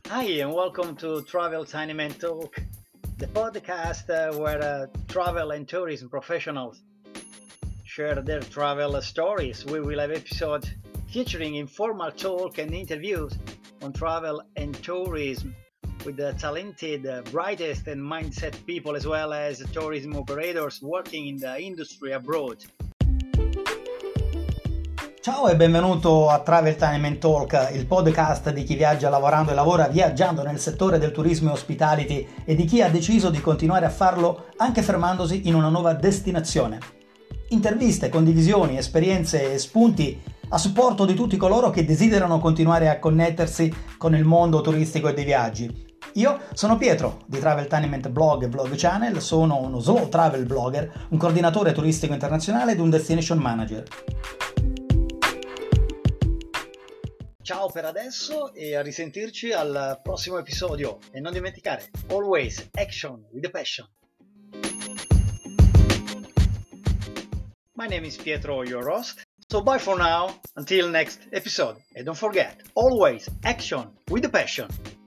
Hi, and welcome to Travel Tiny Man Talk, the podcast where travel and tourism professionals share their travel stories. We will have episodes featuring informal talk and interviews on travel and tourism with the talented, brightest, and mindset people, as well as tourism operators working in the industry abroad. Ciao e benvenuto a Travel Time and Talk, il podcast di chi viaggia lavorando e lavora viaggiando nel settore del turismo e hospitality e di chi ha deciso di continuare a farlo anche fermandosi in una nuova destinazione. Interviste, condivisioni, esperienze e spunti a supporto di tutti coloro che desiderano continuare a connettersi con il mondo turistico e dei viaggi. Io sono Pietro di Travel Tainment Blog e Vlog Channel, sono uno slow travel blogger, un coordinatore turistico internazionale ed un destination manager. Ciao per adesso e a risentirci al prossimo episodio e non dimenticare, always action with a passion. My name is Pietro, your host. So bye for now, until next episode. And don't forget, always action with a passion.